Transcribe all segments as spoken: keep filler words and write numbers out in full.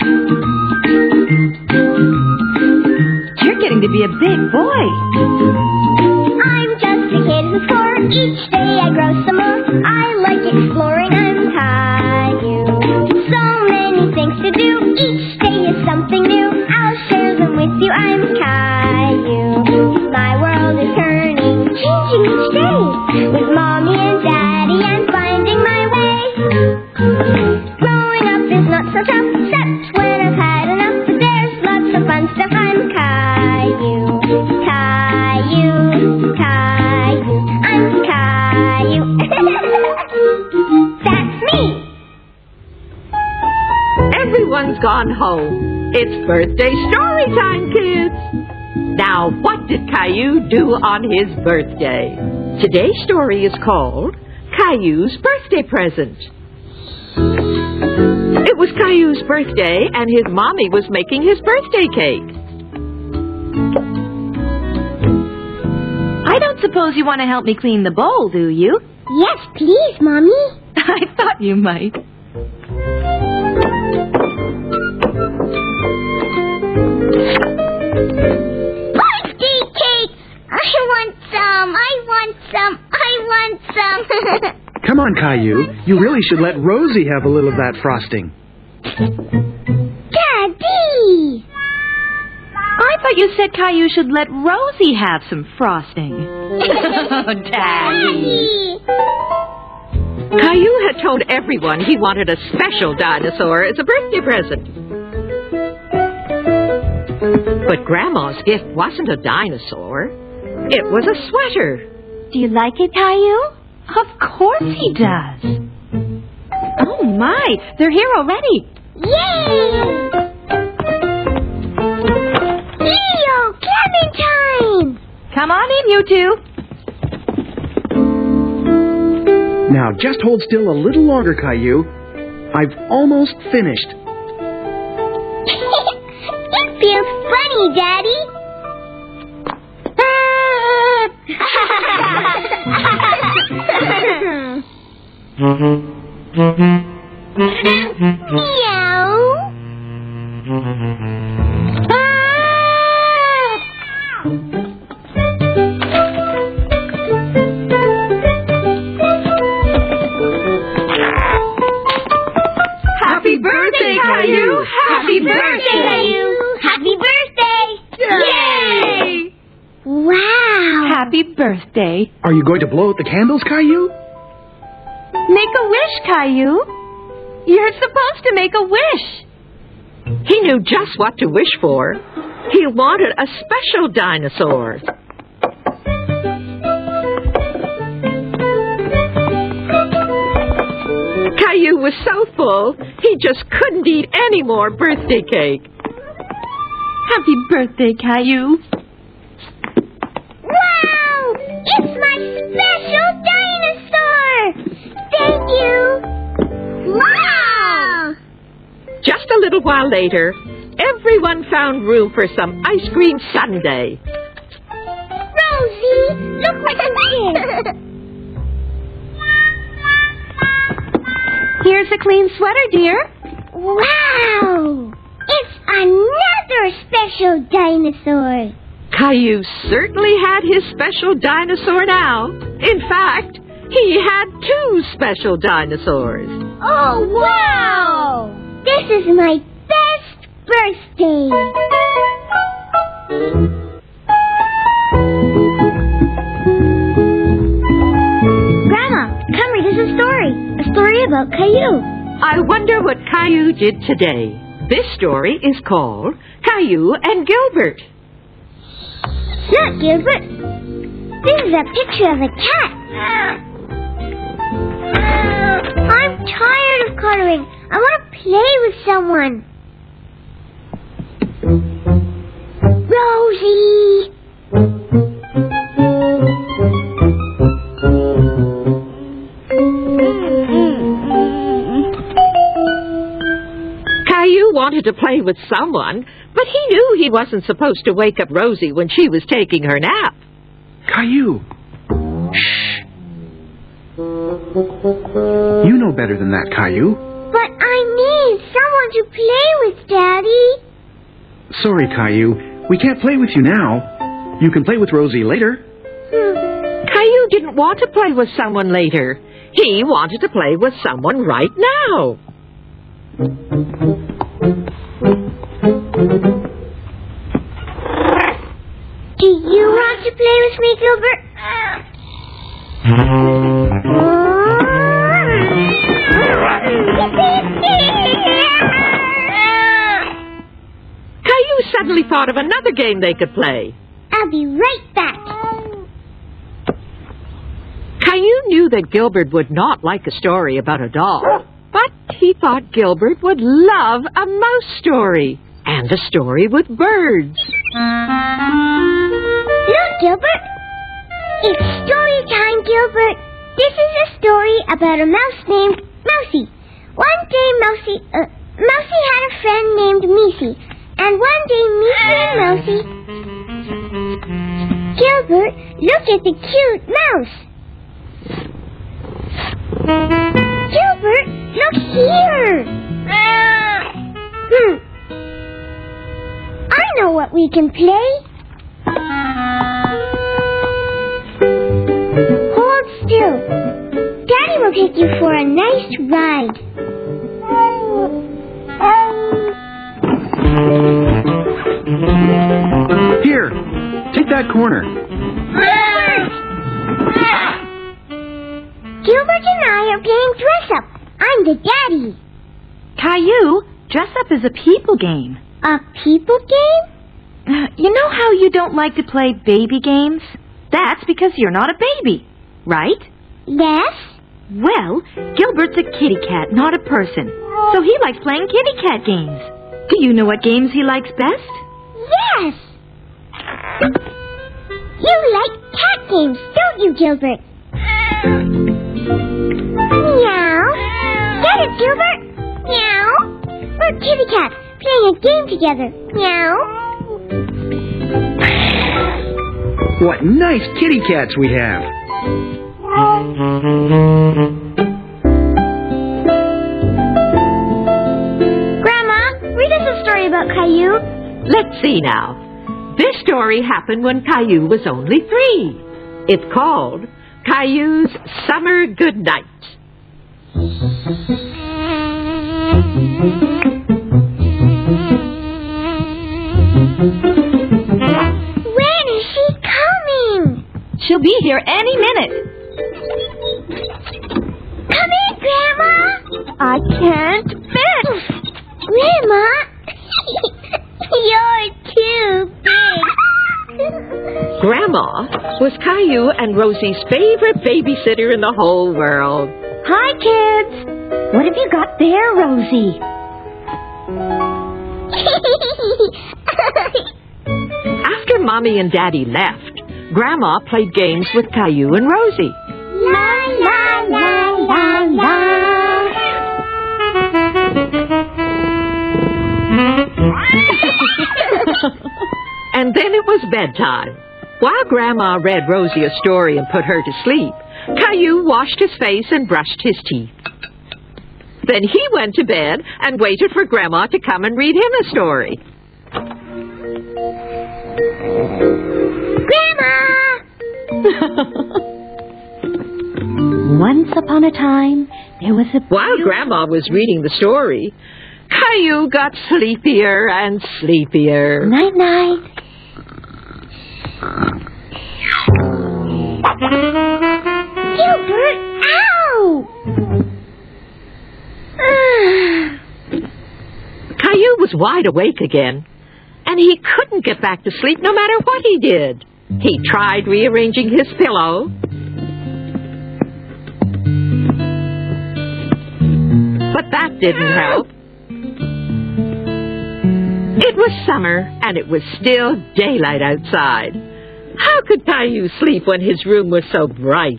You're getting to be a big boy. I'm just a kid who's four. Each day I grow some more. I like exploring. I'm Caillou. So many things to do. Each day is something new. I'll share them with you. I'm Caillou. My world is turning, changing each day. With Mommy and Daddy, I'm finding my way. Growing up is not so tough, except when I've had enough. But there's lots of fun stuff. I'm Caillou. Caillou. Caillou. I'm Caillou. That's me. Everyone's gone home. It's birthday story time, kids. Now, what did Caillou do on his birthday? Today's story is called Caillou's Birthday Present. It was Caillou's birthday, and his mommy was making his birthday cake. I don't suppose you want to help me clean the bowl, do you? Yes, please, Mommy. I thought you might. Birthday cake! I want some! I want some! I want some! Come on, Caillou. You really should let Rosie have a little of that frosting. Daddy! I thought you said Caillou should let Rosie have some frosting. Daddy. Daddy! Caillou had told everyone he wanted a special dinosaur as a birthday present. But Grandma's gift wasn't a dinosaur. It was a sweater. Do you like it, Caillou? Of course he does. Oh, my. They're here already. Yay! Leo, cabin time! Come on in, you two. Now, just hold still a little longer, Caillou. I've almost finished. It feels funny, Daddy. Meow. Happy birthday, Caillou! Happy birthday! Caillou! Happy birthday! Yay! Wow! Happy birthday. Are you going to blow out the candles, Caillou? Make a wish, Caillou. You're supposed to make a wish. He knew just what to wish for. He wanted a special dinosaur. Caillou was so full, he just couldn't eat any more birthday cake. Happy birthday, Caillou. Wow! It's my special dinosaur! Thank you! Wow! Just a little while later, everyone found room for some ice cream sundae. Rosie, look what I did! Here's a clean sweater, dear. Wow! It's another special dinosaur! Caillou certainly had his special dinosaur now. In fact, he had two special dinosaurs. Oh, wow! This is my best birthday! Grandma, come read us a story. A story about Caillou. I wonder what Caillou did today. This story is called Caillou and Gilbert. Look, Gilbert. This is a picture of a cat. I'm tired of coloring. I want to play with someone. Rosie! Caillou wanted to play with someone, but he knew he wasn't supposed to wake up Rosie when she was taking her nap. Caillou. Shh. You know better than that, Caillou. But I need someone to play with, Daddy. Sorry, Caillou. We can't play with you now. You can play with Rosie later. Hmm. Caillou didn't want to play with someone later. He wanted to play with someone right now. Do you want to play with me, Gilbert? Caillou suddenly thought of another game they could play. I'll be right back. Caillou knew that Gilbert would not like a story about a doll, but he thought Gilbert would love a mouse story and a story with birds. Look, Gilbert. It's story time, Gilbert. This is a story about a mouse named Mousie. One day, Mousie, uh, Mousie had a friend named Meesie. And one day, Meesie and Mousie... Gilbert, look at the cute mouse. Gilbert, look here. Hmm. I know what we can play. Hold still. Daddy will take you for a nice ride. Here, take that corner. Gilbert! Gilbert and I are playing dress-up. I'm the daddy. Caillou, dress up is a people game. A people game? Uh, You know how you don't like to play baby games? That's because you're not a baby, right? Yes. Well, Gilbert's a kitty cat, not a person. So he likes playing kitty cat games. Do you know what games he likes best? Yes. You like cat games, don't you, Gilbert? Meow. Get it, Gilbert? Meow. We're kitty cats playing a game together. Meow. What nice kitty cats we have. Grandma, read us a story about Caillou. Let's see now. This story happened when Caillou was only three. It's called Caillou's Summer Goodnight. When is she coming? She'll be here any minute. Come in, Grandma. I can't fit. Grandma, you're too big. Grandma was Caillou and Rosie's favorite babysitter in the whole world. Hi, kids. What have you got there, Rosie? After Mommy and Daddy left, Grandma played games with Caillou and Rosie. La la la la la. And then it was bedtime. While Grandma read Rosie a story and put her to sleep, Caillou washed his face and brushed his teeth. Then he went to bed and waited for Grandma to come and read him a story. Grandma! Once upon a time, there was a... While Grandma was reading the story, Caillou got sleepier and sleepier. Night-night. Gilbert, ow! Caillou was wide awake again, and he couldn't get back to sleep no matter what he did. He tried rearranging his pillow, but that didn't help. It was summer, and it was still daylight outside. How could Caillou sleep when his room was so bright?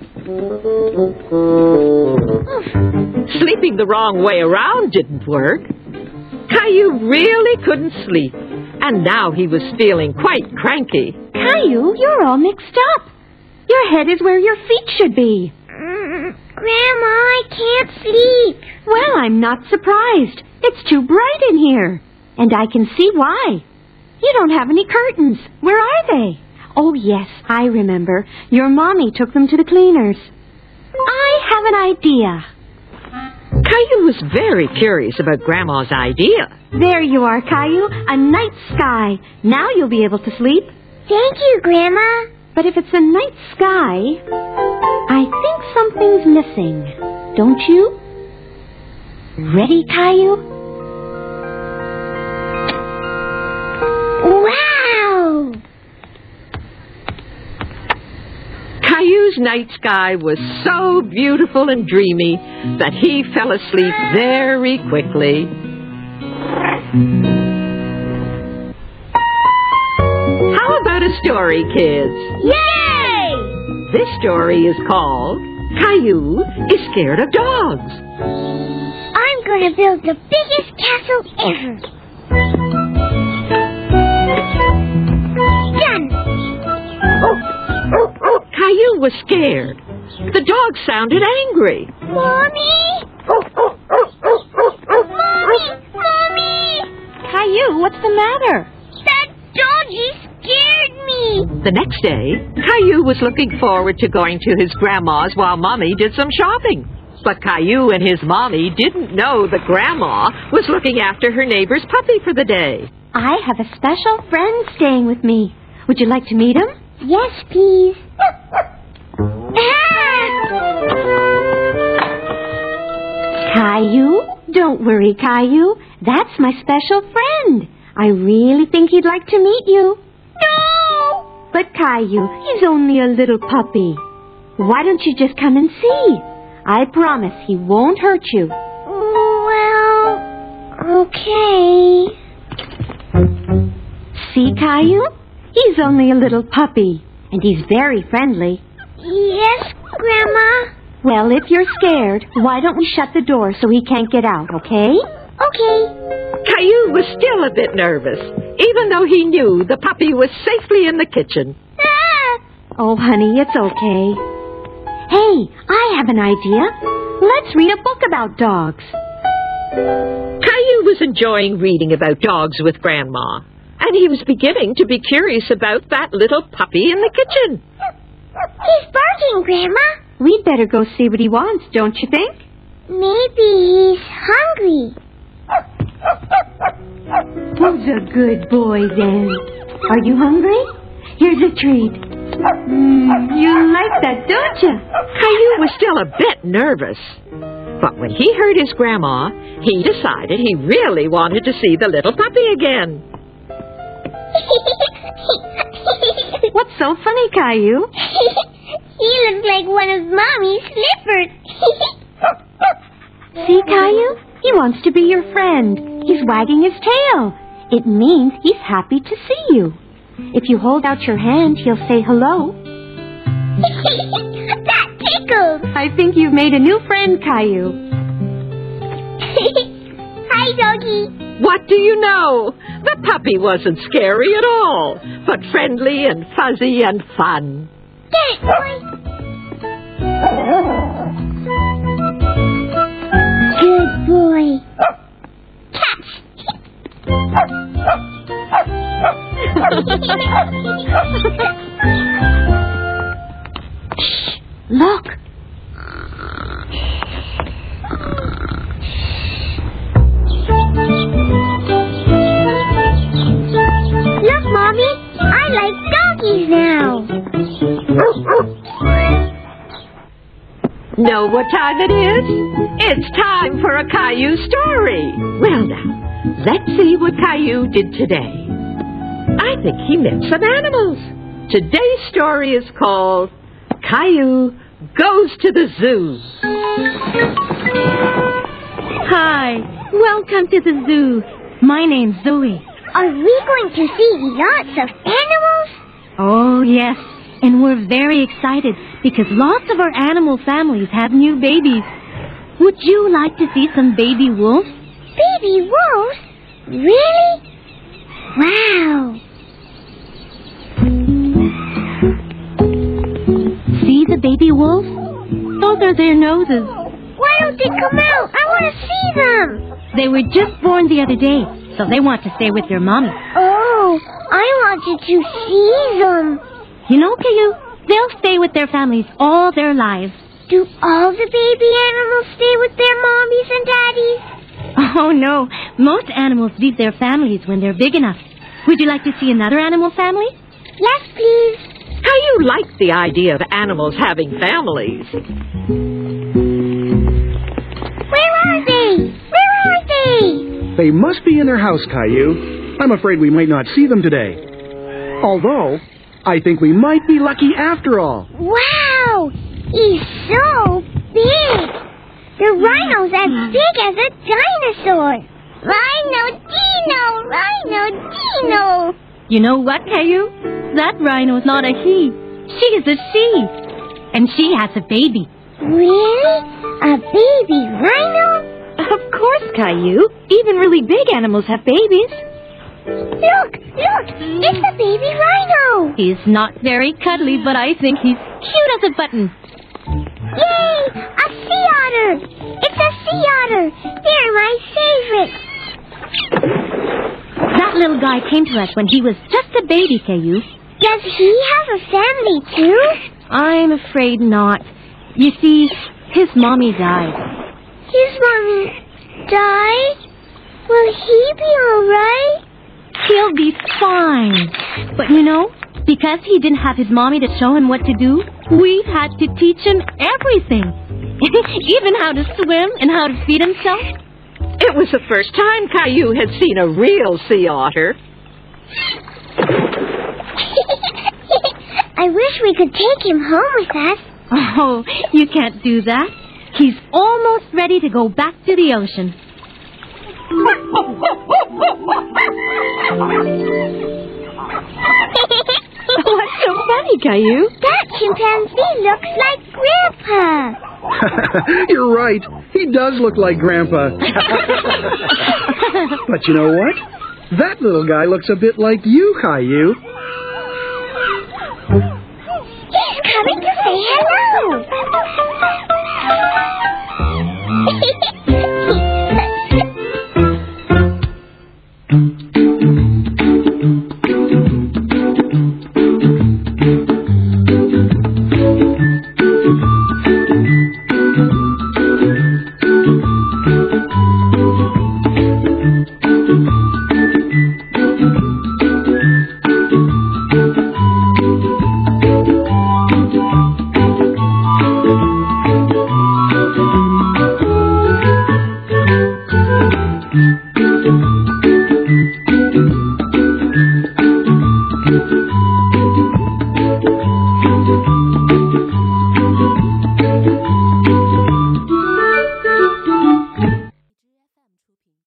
Sleeping the wrong way around didn't work. Caillou really couldn't sleep, and now he was feeling quite cranky. Caillou, you're all mixed up. Your head is where your feet should be. Grandma, I can't sleep. Well, I'm not surprised. It's too bright in here. And I can see why. You don't have any curtains. Where are they? Oh, yes, I remember. Your mommy took them to the cleaners. I have an idea. Caillou was very curious about Grandma's idea. There you are, Caillou. A night sky. Now you'll be able to sleep. Thank you, Grandma. But if it's a night sky, I think something's missing. Don't you? Ready, Caillou? Wow! Caillou's night sky was so beautiful and dreamy that he fell asleep very quickly. How about a story, kids? Yay! This story is called Caillou is Scared of Dogs. I'm going to build the biggest castle ever. Done! Caillou was scared. The dog sounded angry. Mommy! Mommy! Mommy! Caillou, what's the matter? That doggy scared me! The next day, Caillou was looking forward to going to his grandma's while Mommy did some shopping. But Caillou and his Mommy didn't know that Grandma was looking after her neighbor's puppy for the day. I have a special friend staying with me. Would you like to meet him? Yes, please. Caillou? Don't worry, Caillou. That's my special friend. I really think he'd like to meet you. No! But Caillou, he's only a little puppy. Why don't you just come and see? I promise he won't hurt you. Well, okay. See, Caillou? He's only a little puppy, and he's very friendly. Yes, Grandma? Well, if you're scared, why don't we shut the door so he can't get out, okay? Okay. Caillou was still a bit nervous, even though he knew the puppy was safely in the kitchen. Ah! Oh, honey, it's okay. Hey, I have an idea. Let's read a book about dogs. Caillou was enjoying reading about dogs with Grandma, and he was beginning to be curious about that little puppy in the kitchen. He's barking, Grandma. We'd better go see what he wants, don't you think? Maybe he's hungry. Who's a good boy, then? Are you hungry? Here's a treat. Mm, you like that, don't you? Caillou was still a bit nervous. But when he heard his Grandma, he decided he really wanted to see the little puppy again. What's so funny, Caillou? He looks like one of Mommy's slippers. See, Caillou? He wants to be your friend. He's wagging his tail. It means he's happy to see you. If you hold out your hand, he'll say hello. That tickles. I think you've made a new friend, Caillou. Hi, doggy. What do you know? The puppy wasn't scary at all, but friendly and fuzzy and fun. Get boy. Good boy. Catch. Shh! Look! Look, Mommy. I like donkeys now. Know what time it is? It's time for a Caillou story. Well now, let's see what Caillou did today. I think he met some animals. Today's story is called Caillou Goes to the Zoo. Hi, welcome to the zoo. My name's Zoe. Are we going to see lots of animals? Oh, yes. And we're very excited because lots of our animal families have new babies. Would you like to see some baby wolves? Baby wolves? Really? Wow. See the baby wolves? Those are their noses. Why don't they come out? I want to see them. They were just born the other day, so they want to stay with their mommy. Oh, I wanted to see them. You know, Caillou, they'll stay with their families all their lives. Do all the baby animals stay with their mommies and daddies? Oh, no. Most animals leave their families when they're big enough. Would you like to see another animal family? Yes, please. Caillou liked the idea of animals having families. Where are they? Where are they? They must be in their house, Caillou. I'm afraid we might not see them today. Although, I think we might be lucky after all. Wow! He's so big. The rhino's as big as a dinosaur. Rhino Dino! Rhino Dino! You know what, Caillou? That rhino's not a he. She is a she. And she has a baby. Really? A baby rhino? Of course, Caillou. Even really big animals have babies. Look! Look! It's a baby rhino! He's not very cuddly, but I think he's cute as a button. Yay! A sea otter! It's a sea otter! They're my favorite! That little guy came to us when he was just a baby, Caillou. Does he have a family, too? I'm afraid not. You see, his mommy died. His mommy died? Will he be all right? He'll be fine. But you know, because he didn't have his mommy to show him what to do, we had to teach him everything. Even how to swim and how to feed himself. It was the first time Caillou had seen a real sea otter. I wish we could take him home with us. Oh, you can't do that. He's almost ready to go back to the ocean. What's so funny, Caillou? That chimpanzee looks like Grandpa. You're right. He does look like Grandpa. But you know what? That little guy looks a bit like you, Caillou. He's coming to say hello.